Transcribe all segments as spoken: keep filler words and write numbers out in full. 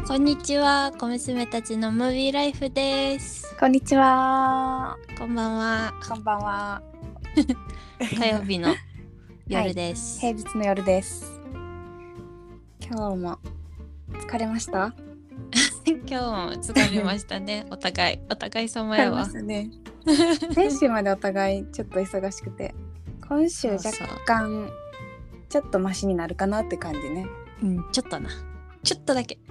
こんにちは、小娘たちのムービーライフです。 こんにちは。 こんばんは。 こんばんは。 火曜日の夜です、 はい、平日の夜です。今日も疲れました？ 今日も疲れましたね。お互い、お互い様やわ。 ね、先週までお互いちょっと忙しくて、今週若干ちょっとマシになるかなって感じね。 うん、ちょっとな。ちょっとだけ。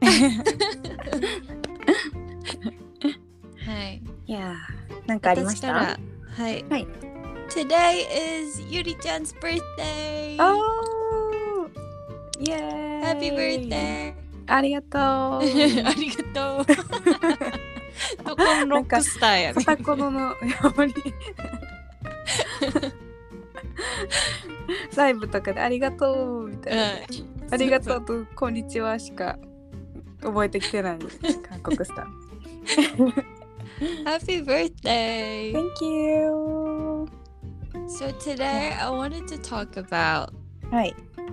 はい。 いやー、なんかありました？ はい。はい。Today is ゆりちゃん 's birthday. Oh! イエーイ! Happy birthday! ありがとう。ありがとう。どこのロックスターやね。 片言のやばり。ライブとかでありがとうみたいな、うん、ありがとうとこんにちはしか覚えてきてない韓国スター。 Happy birthday! Thank you! So today I wanted to talk about はい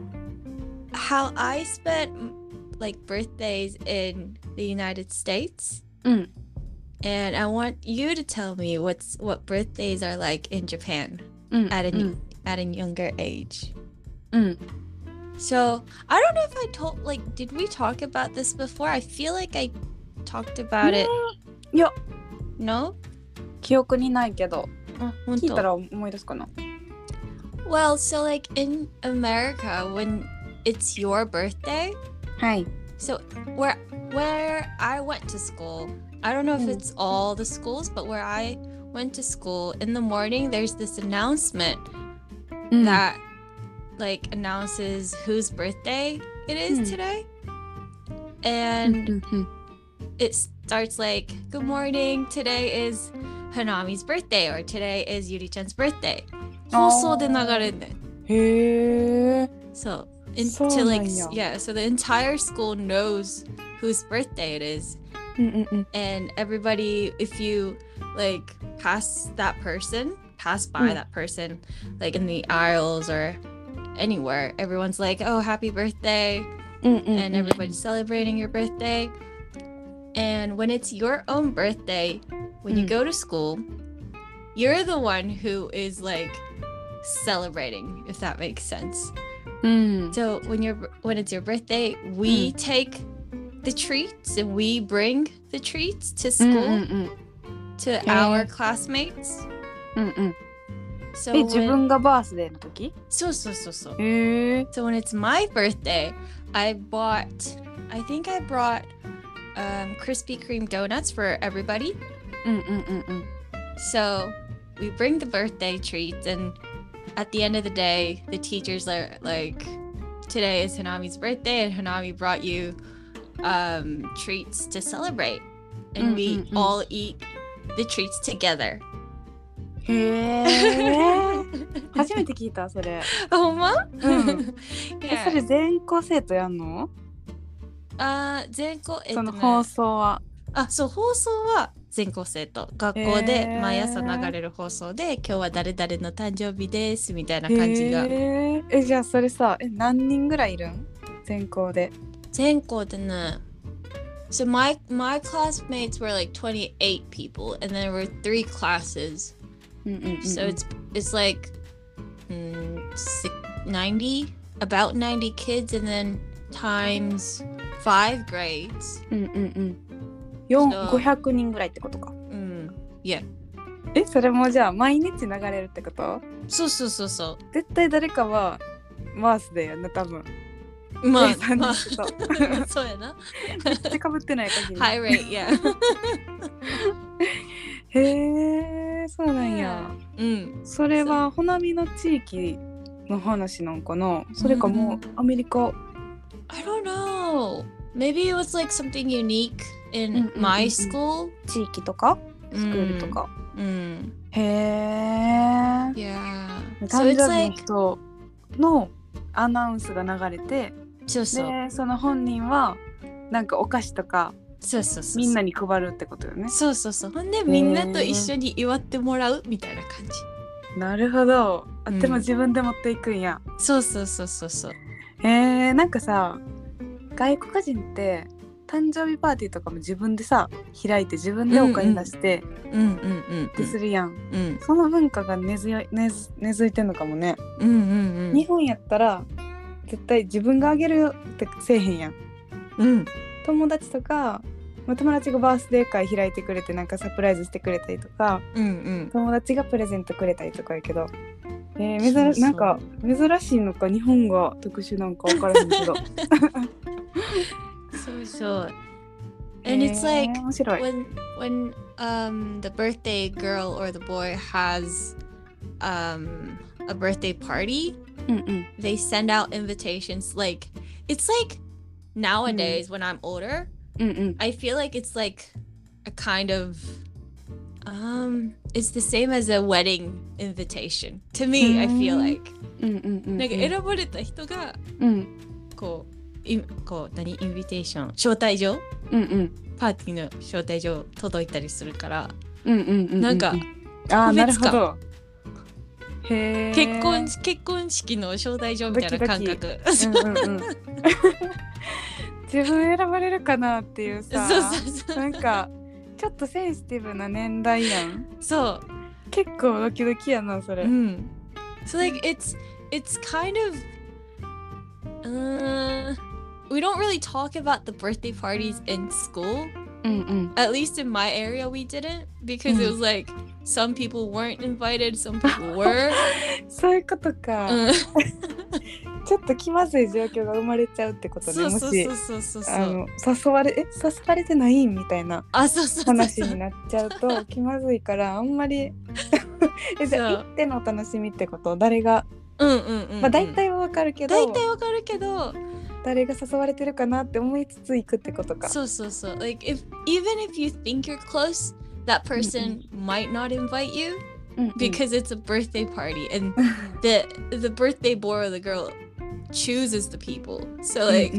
how I spent like birthdays in the United States. うん。 And I want you to tell me what's what birthdays are like in Japan、 うん、 at a、 うん、 at a younger age. うん。 So I don't know if I told like did we talk about this before? I feel like I talked about it. いや、 No? 記憶にないけど。 あ、本当。 聞いたら思い出すかな。 Well, so like in America when it's your birthday. はい。 So where where I went to school, I don't know if it's all the schools, but where I went to school in the morning, there's this announcement that like announces whose birthday it is today. And it starts like, good morning, today is Hanami's birthday, or today is Yuri-chan's birthday. 放送で流れんねん。 へー。 So, into like, yeah, so the entire school knows whose birthday it is. And everybody, if you like pass that person, pass by that person, like in the aisles or anywhere, everyone's like, oh, happy birthday. And everybody's celebrating your birthday. And when it's your own birthday, when you go to school, you're the one who is like celebrating, if that makes sense. So when you're when it's your birthday, we take the treats and we bring the treats to school to our classmates. So え、自分がバースデーの時？ そうそうそうそう。 へー。 So when it's my birthday, I bought, I think I brought um, Krispy Kreme donuts for everybody. So we bring the birthday treats, and at the end of the day, the teachers are like, today is Hanami's birthday, and Hanami brought you um, treats to celebrate. And we all eat the treats together. へえ。初めて聞いたそれ。 ほんま？ うん。え、それ全校生徒やんの？ あ、全校、えっとね、 その放送は。 あ、そう、放送は全校生徒。学校で毎朝流れる放送で、今日は誰々の誕生日ですみたいな感じが。 へえ、じゃあそれさ、え、何人ぐらいいるん？全校で。 全校でね。So my my classmates were like twenty-eight people, and there were three classes. So it's it's like mm, ninety, about ninety kids, and then times five grades. うんうんうん。よん、ごひゃくにんぐらいってことか。 うん。Yeah. え、それもじゃあ毎日流れるってこと？ そうそうそうそう。 絶対誰かはバースデーやな、多分。 まあ、 まあ、 そうやな。 めっちゃかぶってない限り。 High rate, yeah. へえ、そうなんや。 うん。 それはほなみの地域の話なんかな？それかもうアメリカ？ I don't know. Maybe it was like something unique in my school. 地域とかスクールとか。 うん。 へえ。 Yeah. 誕生日の人のアナウンスが流れて、 そうそう。 で、その本人はなんかお菓子とかそうそうそう、 みんなに配るってことよね。 そうそうそう。ほんでみんなと一緒に祝ってもらうみたいな感じ。 なるほど。あ、でも自分で持っていくんや。 そうそうそうそうそう。 へえ、なんかさ、外国人って誕生日パーティーとかも自分でさ開いて自分でお金出してってするやん、 うん、 その文化が根付い、根根付いてんのかもね、 うんうんうん、 日本やったら絶対自分があげるよってせえへんやん、 うん、 友達とか友達がバースデー会開いてくれてなんかサプライズしてくれたりとか、 うんうん、 友達がプレゼントくれたりとかやけど、えー、珍そうそうなんか珍しいのか日本が特殊なんか分からへんけどそうそう。And it's like when when um the birthday girl or the boy has um a birthday party, mm-mm. they send out invitations. Like it's like nowadays mm. when I'm older, mm-mm. I feel like it's like a kind of um it's the same as a wedding invitation to me. Mm. I feel like なんか選ばれた人が、 うん、 こうこう何インビテーション招待状、 うんうん、 パーティーの招待状届いたりするから、 うんうんうんうん、 なんかあなるほどへ結婚結婚式の招待状みたいな感覚うんうん、うん、自分選ばれるかなっていうさそうそうそうなんかちょっとセンシティブな年代やんそう結構ドキドキやなそれ、 うん、So like it's it's kind of uh we don't really talk about the birthday parties in school. Mm-mm. At least in my area we didn't because mm. it was like some people weren't invited, some people were. そういうことか。ちょっと気まずい状況が生まれちゃうってことね。もしあの誘われえ誘われてないみたいな話になっちゃうと気まずいからあんまりえじゃあ行っての楽しみってこと誰がうんうんうんうん、 まあ大体はわかるけど大体わかるけど誰が誘われてるかなって思いつつ行くってことかそうそうそう like if even if you think you're close that person、うんうん、might not invite you、うんうん、because it's a birthday party and the the birthday boy or the girl chooses the people so like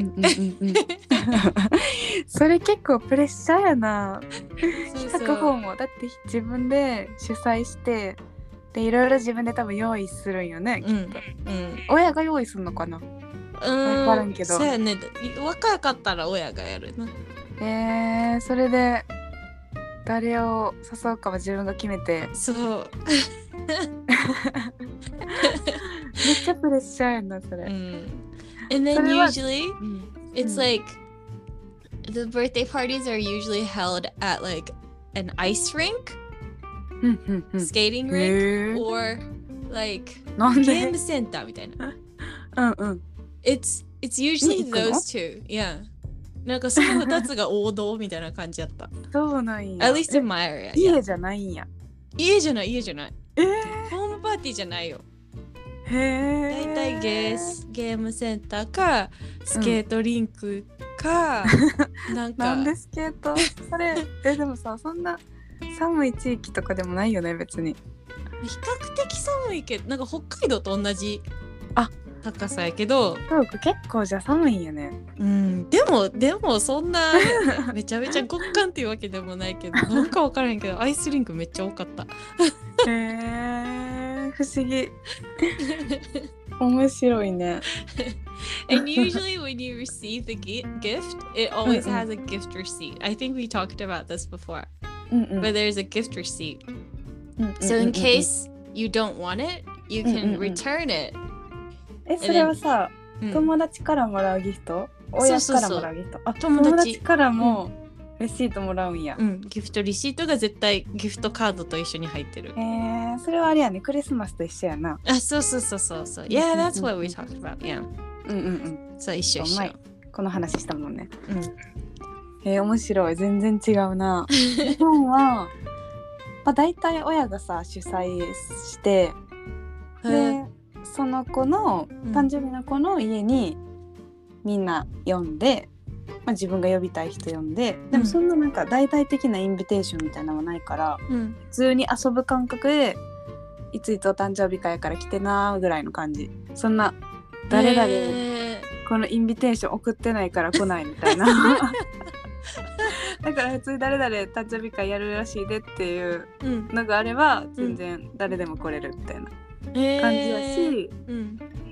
それ結構プレッシャーやな企画方もだって自分で主催してでいろいろ自分で多分用意するんよね、 うんきっと、 うん、 親が用意するのかな分からんけどそうやね若かったら親がやるなえー、それで誰を誘うかは自分が決めてそうめっちゃプレッシャーやなそれ、うん、 And then usually、うん、it's like the birthday parties are usually held at like an ice rink、skating rink or like ゲームセンターみたいなうんうん It's, it's usually those two yeah なんかそのふたつが王道みたいな感じだったそうなんや At least in my area 家じゃないんや家じゃない家じゃないえー、 ホームパーティーじゃないよへえだいたいゲーゲームセンターかスケートリンクか、うん、なんかなんでスケートそれえでもさそんな寒い地域とかでもないよね別に比較的寒いけどなんか北海道と同じあ高さやけどそうか結構じゃ寒いんやねうんでもでもそんなめちゃめちゃ極寒っていうわけでもないけどなんか分からへんけどアイスリンクめっちゃ多かったへえ不思議面白いね And usually when you receive the gift it always has a gift receipt I think we talked about this before but there's a gift receipt so in case you don't want it you can return it えそれはさ、うん、友達からもらうギフト親からもらうギフトあ友達、友達からもレシートもらうんや、 うん、ギフトレシートが絶対ギフトカードと一緒に入ってるへえそれはあれやねクリスマスと一緒やなあそうそうそうそうそう Yeah that's what we talked about yeah うんうんうんそう一緒一緒この話したもんねうんへえ面白い全然違うな日本はまあ大体親がさ主催してでその子の誕生日の子の家にみんな呼んで、まあ、自分が呼びたい人呼んででもそんななんか大々的なインビテーションみたいなのはないから、 うん、 普通に遊ぶ感覚でいついつお誕生日会から来てなぐらいの感じそんな誰々このインビテーション送ってないから来ないみたいなだから普通に誰々誕生日会やるらしいでっていうのがあれば、うん、全然誰でも来れるみたいな感じだし、 うん、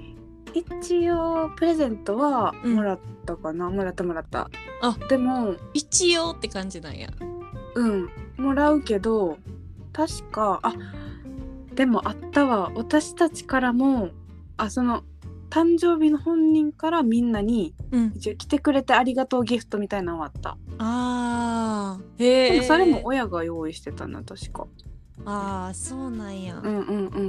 一応プレゼントはもらったかな、うん、もらったもらった。 あ、 でも一応って感じなんや。 うんもらうけど確かあでもあったわ、私たちからもあその誕生日の本人からみんなに、うん、一応来てくれてありがとうギフトみたいなのはあった。 あーへえ。 でもそれも親が用意してたな確か。 ああそうなんや。 うんうんうんうんうん。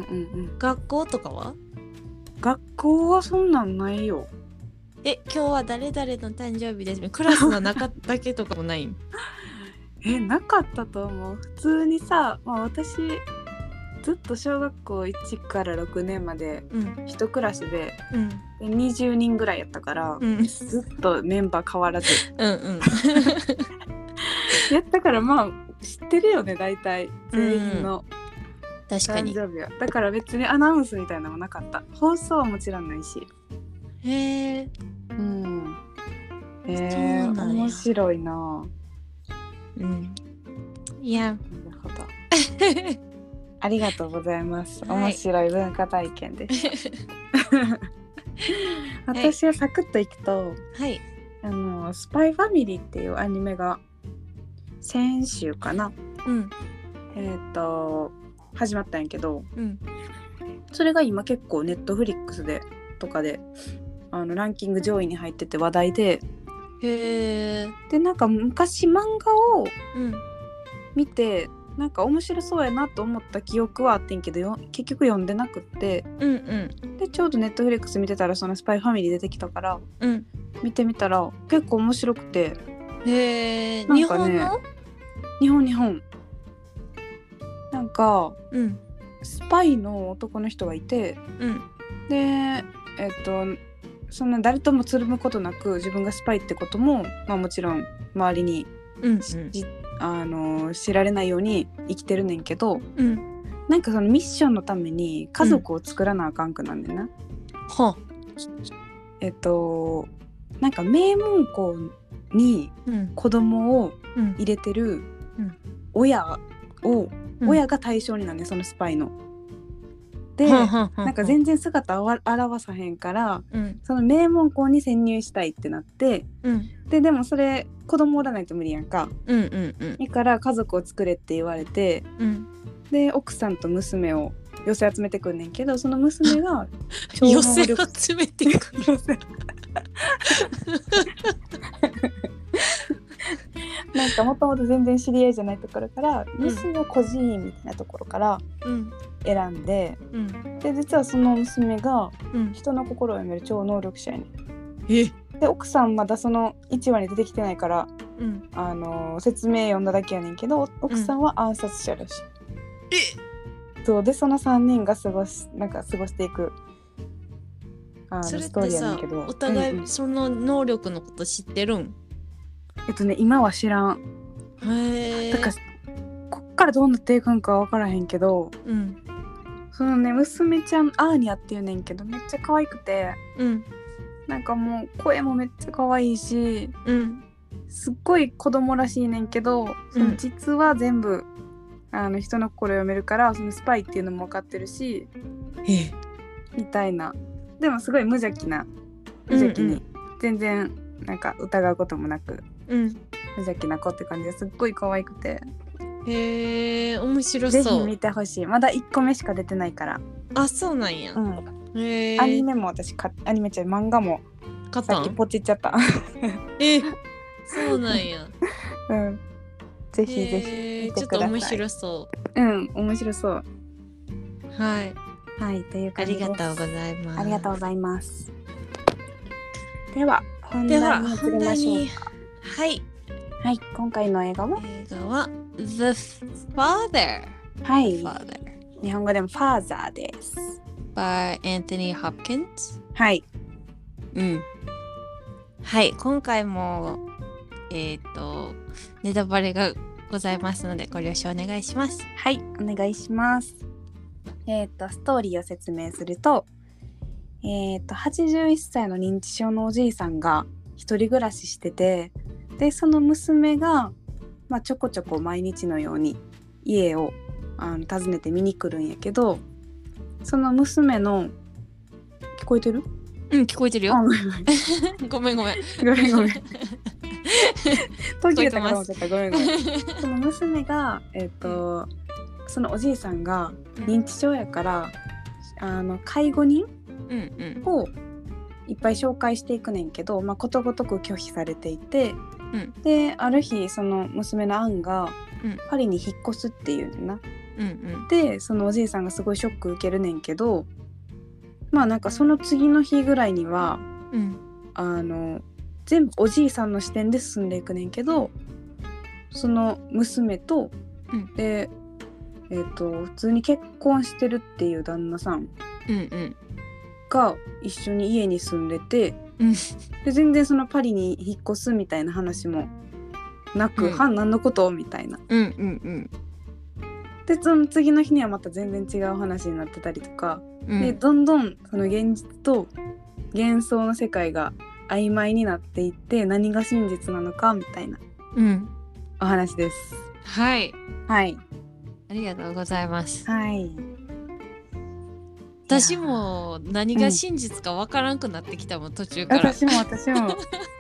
学校とかは？ 学校はそんなんないよ。 え今日は誰々の誕生日です。クラスの中だけとかもないん？ えなかったと思う。普通にさ、まあ、私ずっと小学校いちからろくねんまで一クラスで、うん、でにじゅうにんぐらいやったから、うん、ずっとメンバー変わらずうん、うん、やったからまあ知ってるよね大体全員の誕生日は、うん、だから別にアナウンスみたいなのもなかった。放送はもちろんないし。 へえうんへえ面白いな。うんいやなるほどありがとうございます、はい、面白い文化体験でした私はサクッといくと、はい、あのスパイファミリーっていうアニメが先週かな、うん、えっと始まったんやけど、うん、それが今結構ネットフリックスでとかであのランキング上位に入ってて話題で、へーでなんか昔漫画を見て、うん、なんか面白そうやなと思った記憶はあってんけどよ結局読んでなくって、うんうん、でちょうどネットフリックス見てたらそのスパイファミリー出てきたから、うん、見てみたら結構面白くて。 へー、日本の？ 日本日本なんか、うん、スパイの男の人がいて、うん、でえっとそんな誰ともつるむことなく自分がスパイってことも、まあ、もちろん周りに、うんうん、あの知られないように生きてるねんけど、うん、なんかそのミッションのために家族を作らなあかんくなんねんな、うん、はえっとなんか名門校に子供を入れてる親を、うん、親が対象になんねんそのスパイの。で、うん、なんか全然姿を現さへんから、うん、その名門校に潜入したいってなって、うん、ででもそれ子供おらないと無理やんか、うんうんうん、だから家族を作れって言われて、うん、で奥さんと娘を寄せ集めてくんねんけどその娘が寄せ集めてくるなんかもともと全然知り合いじゃないところから、うん、娘の孤児院みたいなところから選んで、うん、で実はその娘が人の心を読める超能力者やねん、うん、で奥さんまだそのいちわに出てきてないから、うん、あの説明読んだだけやねんけど奥さんは暗殺者らしい、うん、そうでそのさんにんが過ごしなんか過ごしていくあのそれってさストーリーやねんけどお互いその能力のこと知ってるん、うんうんえっとね今は知らん。へえ。だからこっからどうなっていくんか分からへんけど、うん、そのね娘ちゃんアーニャっていうねんけどめっちゃ可愛くて、うん、なんかもう声もめっちゃ可愛いし、うん、すっごい子供らしいねんけど、その実は全部あの人の心読めるからそのスパイっていうのも分かってるし、えみたいな。でもすごい無邪気な無邪気に、うんうん、全然なんか疑うこともなく。うん、無邪気な子って感じですっごい可愛くて、 へえ面白そう。 ぜひ見てほしい。まだいっこめしか出てないから。 あそうなんや、うん、 へアニメも私かアニメちゃう漫画もさっきポチっちゃったえそうなんやうんぜひぜひ見てください。ちょっと面白そう。 うん面白そうはいはいという感じです。 ありがとうございます。 ありがとうございます。では本題に移りましょうか。 はいはい今回の映画は映画は The Father はい Father 日本語でも Father です by Anthony Hopkins はいうんはい今回もえっとネタバレがございますのでご了承お願いします。 はいお願いします。えっとストーリーを説明するとえっとはちじゅういっさいの認知症のおじいさんが一人暮らししててでその娘が、まあ、ちょこちょこ毎日のように家をあの訪ねて見に来るんやけどその娘の聞こえてる？ うん聞こえてるよ。ごめんごめんごめんごめん途切れたから思っちゃった。ごめんごめんその娘がえっ、ー、とそのおじいさんが認知症やから、うん、あの介護人をいっぱい紹介していくねんけど、まあ、ことごとく拒否されていて、うん、である日その娘のアンがパリに引っ越すっていうねんな、うんうん、でそのおじいさんがすごいショック受けるねんけど、まあなんかその次の日ぐらいには、うん、あの全部おじいさんの視点で進んでいくねんけど、その娘と、うん、でえーと、普通に結婚してるっていう旦那さんが一緒に家に住んでて、うん、で全然そのパリに引っ越すみたいな話もなく、うん、はん何のことみたいな、うんうんうん、でその次の日にはまた全然違う話になってたりとか、うん、でどんどんその現実と幻想の世界が曖昧になっていって何が真実なのかみたいな、うん、お話です。 はいはいありがとうございます。 はい。 私も何が真実かわからんくなってきたもん、うん、途中から。 私も私も。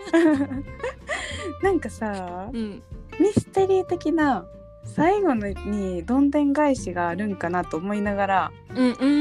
なんかさ、うん、ミステリー的な最後にどんでん返しがあるんかなと思いながら、うんうん、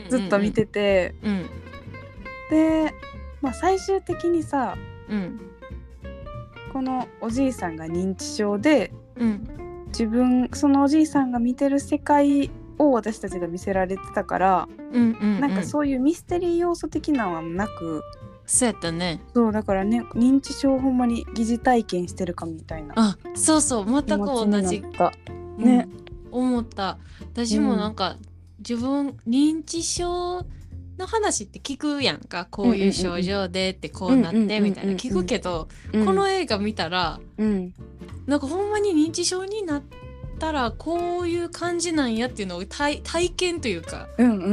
ずっと見てて、うん、で、まあ、最終的にさ、うん、このおじいさんが認知症で、うん自分そのおじいさんが見てる世界を私たちが見せられてたから、うんうんうん、なんかそういうミステリー要素的なのはなく、 そうやったね。 そうだからね認知症ほんまに疑似体験してるかみたいな。 あそうそう全く同じね、うん、思った。私もなんか、うん、自分認知症の話って聞くやんか、こういう症状でってこうなってみたいな聞くけど、うん、この映画見たら、うん、なんかほんまに認知症になったらこういう感じなんやっていうのを 体, 体験というか、うんうんうんうん、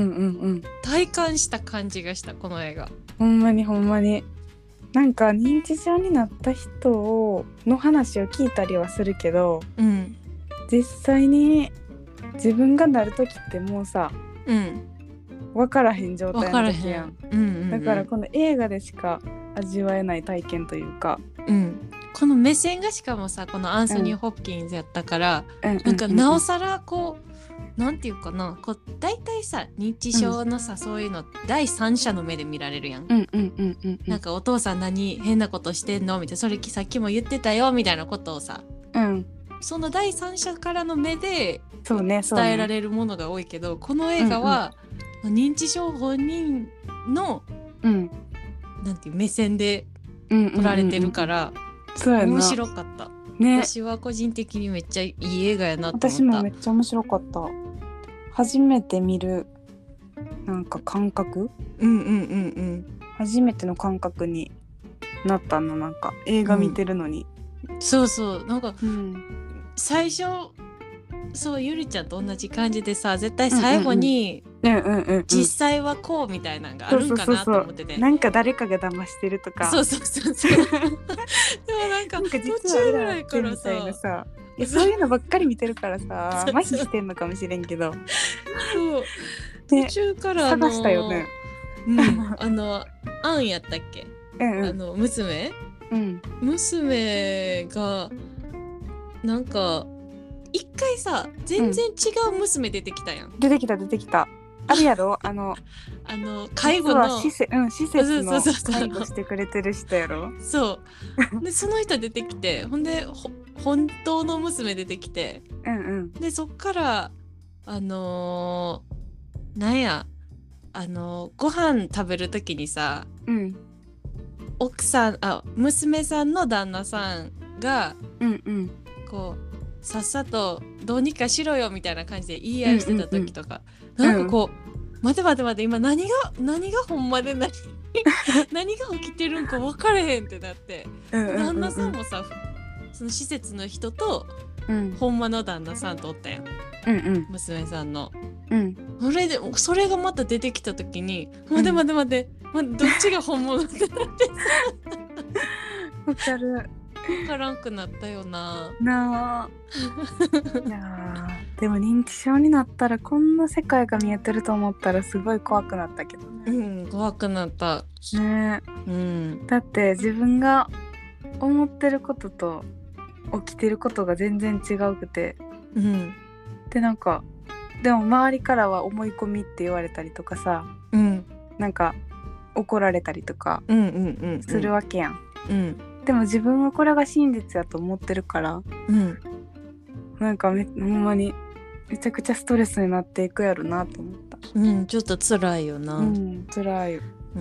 体感した感じがしたこの映画。 ほんまにほんまになんか認知症になった人をの話を聞いたりはするけど、うん、実際に自分がなる時ってもうさ、うん分からへん状態の時やん、うんうんうん、だからこの映画でしか味わえない体験というか、うん、 この目線がしかもさこのアンソニー・ホプキンズやったから、うん、なんかなおさらこうなんていうかなこう大体さ認知症のさ、うん、そういうの第三者の目で見られるやん、うんうんうんうん、なんかお父さん何変なことしてんのみたいなそれさっきも言ってたよみたいなことをさ、うん、その第三者からの目で伝えられるものが多いけど、そうねそうね、この映画は、うんうん、認知症本人の、うん、なんていう目線で撮られてるから、うんうんうんうん、面白かった、ね、私は個人的にめっちゃいい映画やなと思った。 私もめっちゃ面白かった。初めて見るなんか感覚、うんうんうんうん、初めての感覚になったのなんか映画見てるのに、 うん、そうそうなんか、うん、最初そうゆりちゃんと同じ感じでさ絶対最後に実際はこうみたいなのがあるんかなと思ってて、 なんか誰かが騙してるとかそうそうそうそうでもなんか途中ぐらいからさいやそういうのばっかり見てるからさ麻痺してんのかもしれんけどそう途中から探したよね、 うん、あのアンやったっけ、うんうん、あの娘、うん、娘がなんか一回さ全然違う娘出てきたやん、 うん、出てきた出てきたあるやろあのあの介護の施設、うん、施設の介護してくれてる人やろそうでその人出てきてほんで本当の娘出てきて、うんうん、でそっからあのー、なんやあのー、ご飯食べるときにさ、うん、奥さんあ娘さんの旦那さんが、うんうん、こうさっさとどうにかしろよみたいな感じで言い合いしてた時とか、うんうんうん、なんかこう、うん、待て待て待て今何が何がほんまで何何が起きてるんか分からへんってなって、うんうんうんうん、旦那さんもさその施設の人と、うん、ほんまの旦那さんとおったやん、うんうん、娘さんの、うん、それでそれがまた出てきた時に、うん、待て待て待て、ま、どっちが本物ってなってさわかる分からんくなったよななあいやでも認知症になったらこんな世界が見えてると思ったらすごい怖くなったけどね、 うん、 怖くなったね、 うん、 だって自分が思ってることと起きてることが全然違うくて、 うん、 でなんかでも周りからは思い込みって言われたりとかさ、 うん、 なんか怒られたりとかするわけやん、 うんうんうん、 でも自分はこれが真実やと思ってるから、 うん、 なんかめほんまにめちゃくちゃストレスになっていくやろなと思った。 うん、ちょっと辛いよな。 うん、辛いよ。 うん。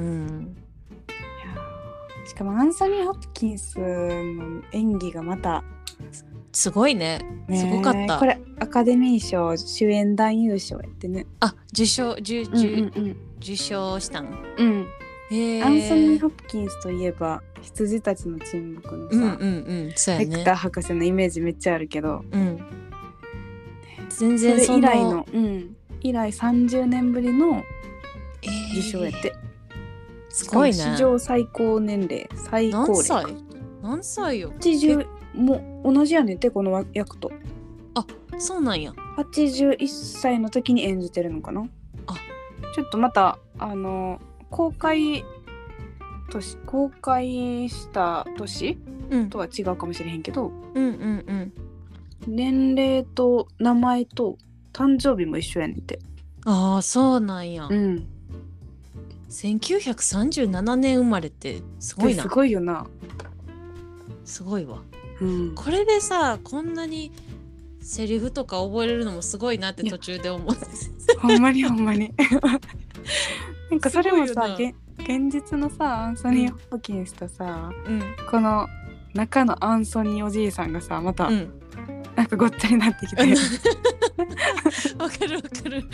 いやしかもアンソニー・ホプキンスの演技がまたすごいね。ねすごかった。 これアカデミー賞主演男優賞やってね。 あ、受賞、受、受、うんうんうん、受賞したん。 うん。へアンソニー・ホプキンスといえば羊たちの沈黙のさ、うんうんうん、そうやね、ヘクター博士のイメージめっちゃあるけど、うん、全然それ以来の、うん、以来さんじゅうねんぶりの受賞やって、えー、すごいね。史上最高年齢最高齢。何歳何歳よ。 はちじゅうも同じやねんてこの役と。 あ、そうなんや。 はちじゅういっさいの時に演じてるのかな。あ、ちょっとまたあの公開年公開した年、うん、とは違うかもしれへんけど、うんうんうん、年齢と名前と誕生日も一緒やねんて。 ああ、そうなんや。うん。せんきゅうひゃくさんじゅうななねん生まれってすごいな。 すごいよな。 すごいわ。うん、これでさ、こんなにセリフとか覚えれるのもすごいなって途中で思って。 ほんまにほんまに。なんかそれもさ、現実のさアンソニー・ホプキンスとさ、うん、この中のアンソニーおじいさんがさまた、うん、なんかごっちゃになってきてわかるわかる。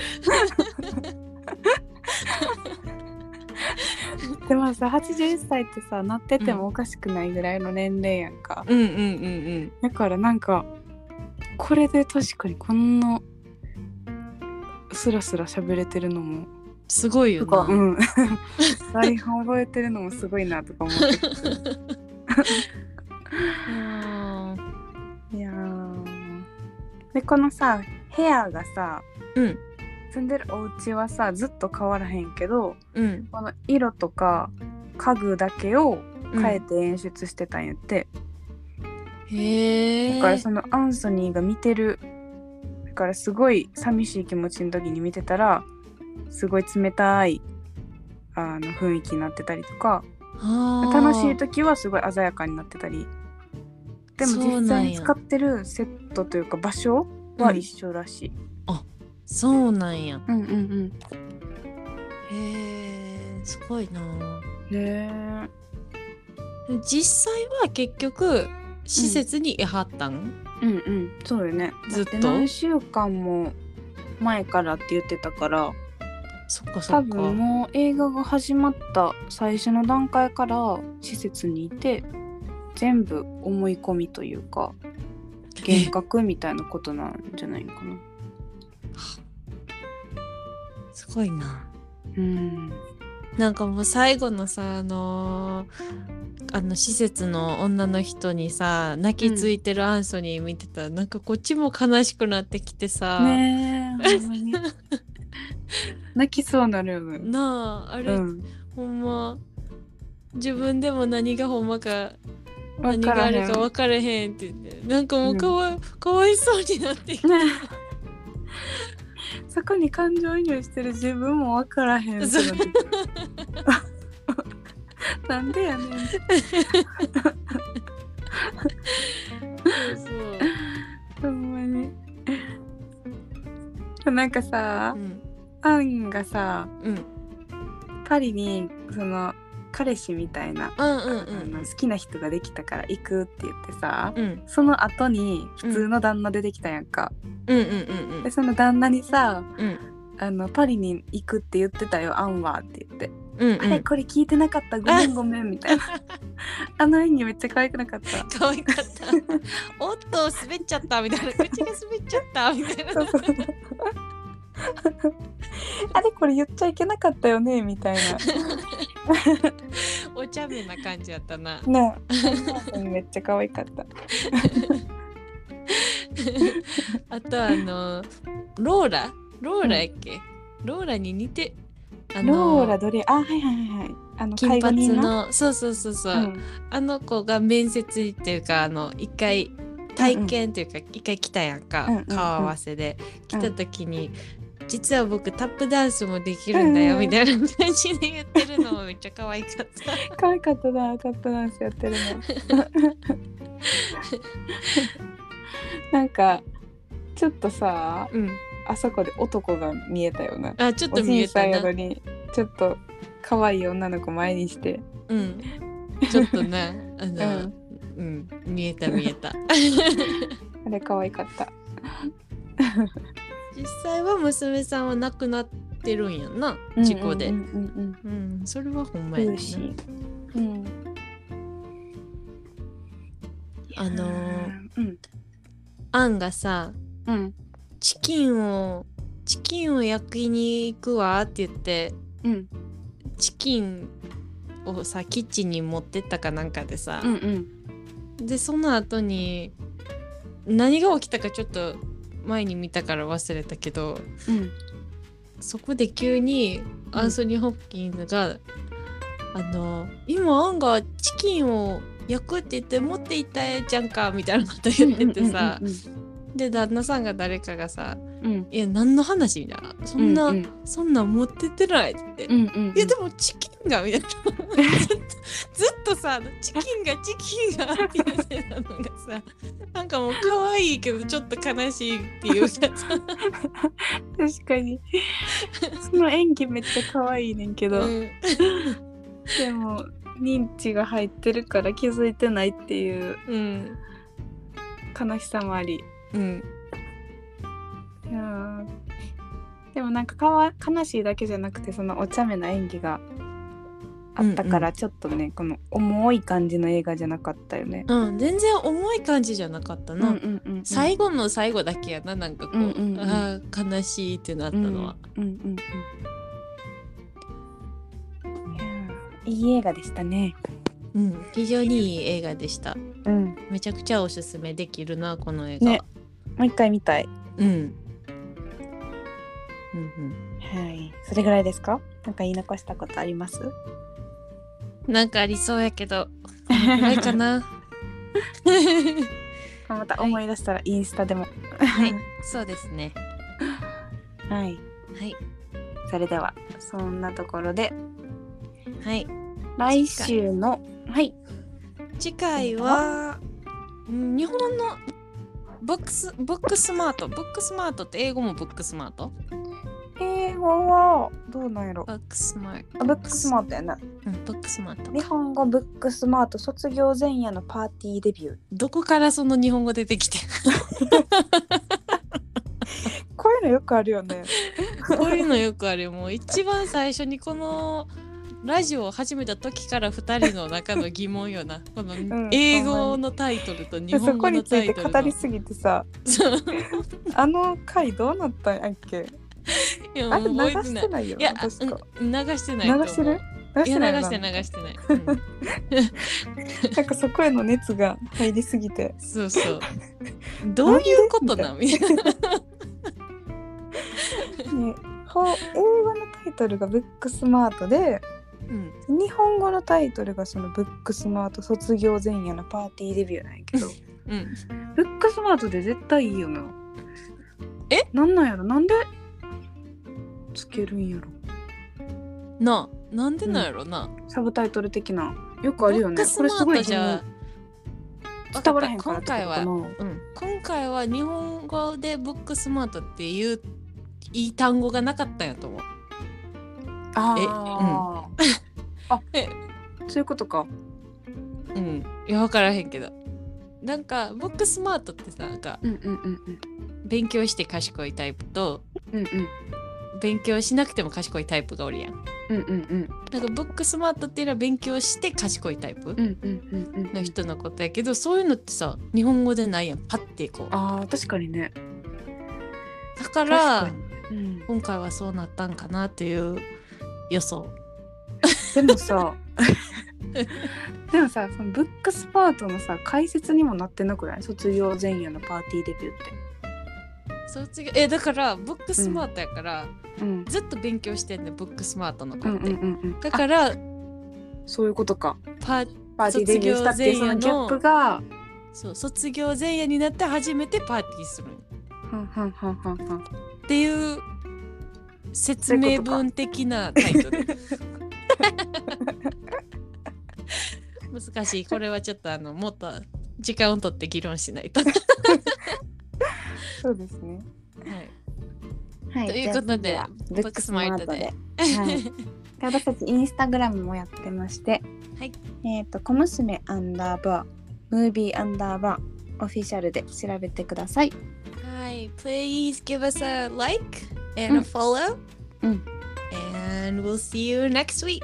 でもさはちじゅういっさいってさなっててもおかしくないぐらいの年齢やんか、うんうんうんうん、だからなんかこれで確かにこんなスラスラ喋れてるのもすごいよな。うん。 台本覚えてるのもすごいなとか思っていやでこのさ部屋がさ、うん、住んでるお家はさずっと変わらへんけど、うん、この色とか家具だけを変えて演出してたんやって、うん、へえ。だからそのアンソニーが見てるだからすごい寂しい気持ちの時に見てたらすごい冷たいあの雰囲気になってたりとか、楽しい時はすごい鮮やかになってたり、でも実際に使ってるセットというか場所は一緒らしい、 うん、あ、そうなんや。 うんうんうん。 へえ、すごいな。 ねえ。実際は結局施設にいはったん？ うんうんうん、そうよね。ずっと何週間も前からって言ってたから。 そっかそっか。 多分もう映画が始まった最初の段階から施設にいて全部思い込みというか幻覚みたいなことなんじゃないのかな。 すごいな。 うん。 なんかもう最後のさあのー、あの施設の女の人にさ泣きついてるアンソニー見てたら、うん、なんかこっちも悲しくなってきてさ。 ねえ。ほんまに泣きそうなるよね。 なあ、あれ、うん、ほんま自分でも何がほんまか何があるか分からへんって言ってなんかもうかわ、うん、かわいそうになってきて、ね、 そこに感情移入してる自分も分からへんってなんでやねんそうそうほんまになんかさ、うん、アンがさ、うん、パリにその彼氏みたいな、うんうんうん、あの好きな人ができたから行くって言ってさ、うん、その後に普通の旦那出てきたやんか、うんうんうんうん、でその旦那にさ、うん、あのパリに行くって言ってたよアンはって言って、うんうん、あれこれ聞いてなかったごめんごめんみたいなあの演技めっちゃ可愛くなかった。 可愛かったおっと滑っちゃったみたいな口が滑っちゃったみたいなそうそうあれこれ言っちゃいけなかったよねみたいなお茶目な感じやったな。 なめっちゃ可愛かったあとあのローラローラやっけ、うん、ローラに似てあのローラどれあはいはいはいはいあの金髪のそうそうそうそう、うん、あの子が面接っていうかあの一回体験っていうか、うんうん、一回来たやんか、うんうんうん、顔合わせで来た時に、うん、実は僕タップダンスもできるんだよ、うんうん、みたいな感じで言ってるのもめっちゃ可愛かった可愛かったなタップダンスやってるのなんかちょっとさ、うん、あそこで男が見えたよな。 あちょっと見えたな。おじいさんやのにちょっと可愛い女の子前にして、 うん、ちょっとなあの、うんうん、見えた見えた。 あれ可愛かった。 実際は娘さんは亡くなってるんやんな、事故で。うんうんうんうんうん、それはほんまやね。うん。あのー、うん、アンがさ、うん、チキンをチキンを焼きに行くわって言って、うん、チキンをさキッチンに持ってったかなんかでさ、うんうん、でその後に何が起きたかちょっと前に見たから忘れたけど、うん、そこで急にアンソニー・ホプキンズが、うん、あの今アンがチキンを焼くって言って持っていったじゃんかみたいなこと言っててさ、うんうんうんうん、で旦那さんが誰かがさ、うん、いや何の話みたいなそんな、うんうん、そんな持ってってないって、うんうんうん、いやでもチキンがみたいなずっとさチキンがチキンがって言ってたのがさなんかもう可愛いけどちょっと悲しいっていうさ確かにその演技めっちゃ可愛いねんけど、うん、でも認知が入ってるから気づいてないっていう、うん、悲しさもあり、うん、いやでもなんかかわ悲しいだけじゃなくてそのお茶目な演技があったからちょっとね、うんうん、この重い感じの映画じゃなかったよね。 うん、全然重い感じじゃなかったな、うんうんうんうん、最後の最後だけやななんかこう、うんうんうん、あ悲しいってなったのは、うんうんうんうん、いい映画でしたね。 うん、非常にいい映画でした、うん、めちゃくちゃおすすめできるなこの映画、ね、 もう一回見たい、うん、うんうん、はい、それぐらいですか？なんか言い残したことあります？ なんかありそうやけどこのぐらいかなまた思い出したらインスタでもはいそうですねはい、はい、それではそんなところではい来週のはい次回は日本のブックスブックスマートブックスマートって英語もブックスマート？ 英語はどうなんやろ？ ブックスマート。 あ、ブックスマートやな。 うん、ブックスマート。 日本語ブックスマート卒業前夜のパーティーデビュー。 どこからその日本語出てきて？ こういうのよくあるよね。 こういうのよくあるよ。もう一番最初にこのラジオを始めた時からふたりの中の疑問よな。この英語のタイトルと日本語のタイトルの。そこについて語りすぎてさ、あの回どうなったんやっけ？いやあれ流してないよ。いや確か流してないと思う。 流してる？ 流してない。いや流して流してない。うん、 なんかそこへの熱が入りすぎて。 そうそう。どういうことなみたいな。ね、 英語のタイトルがブックスマートで、うん、日本語のタイトルがそのブックスマート卒業前夜のパーティーデビューなんやけど、うん、ブックスマートで絶対いいよな。 え？ なんなんやろ？なんでつけるんやろなあ、なんでなんやろな、 うん、サブタイトル的なよくあるよね。これすごいじゃ伝わらへんからってことかな。今回は、 うん、今回は日本語でブックスマートっていういい単語がなかったんやと思う。 あえ、うん、あえそういうことか。 うんいや分からへんけどなんかブックスマートってさなんか、うんうんうんうん、勉強して賢いタイプと、うんうん勉強しなくても賢いタイプがおるやん。うんうんうん。なんかブックスマートっていうのは勉強して賢いタイプの人のことやけど、そういうのってさ日本語でないやん。パッてこう。 ああ確かにね。 だから、うん、今回はそうなったんかなっていう予想。 でもさでもさそのブックスマートのさ解説にもなってなくない？卒業前夜のパーティーデビューって。 卒業えだからブックスマートやから、 うん、 ずっと勉強してんねブックスマートの子って、 うんうんうんうん、 だからそういうことか。 パパーティーデビューしたっていうそのギャップがそう卒業前夜になって初めてパーティーするはんはんはんはんはんっていう説明文的なタイトル難しい。これはちょっとあのもっと時間を取って議論しないとそうですね。 はい、はい、ということでブックスマートで、はい、私たちインスタグラムもやってまして、はい、えっ、ー、と小娘アンダーバームービーアンダーバーオフィシャルで調べてください。 はい、please give us a like and a follow、うん、and we'll see you next week.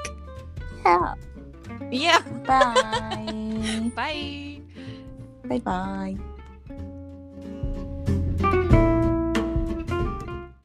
Yeah. Yeah. Bye. Bye. Bye bye.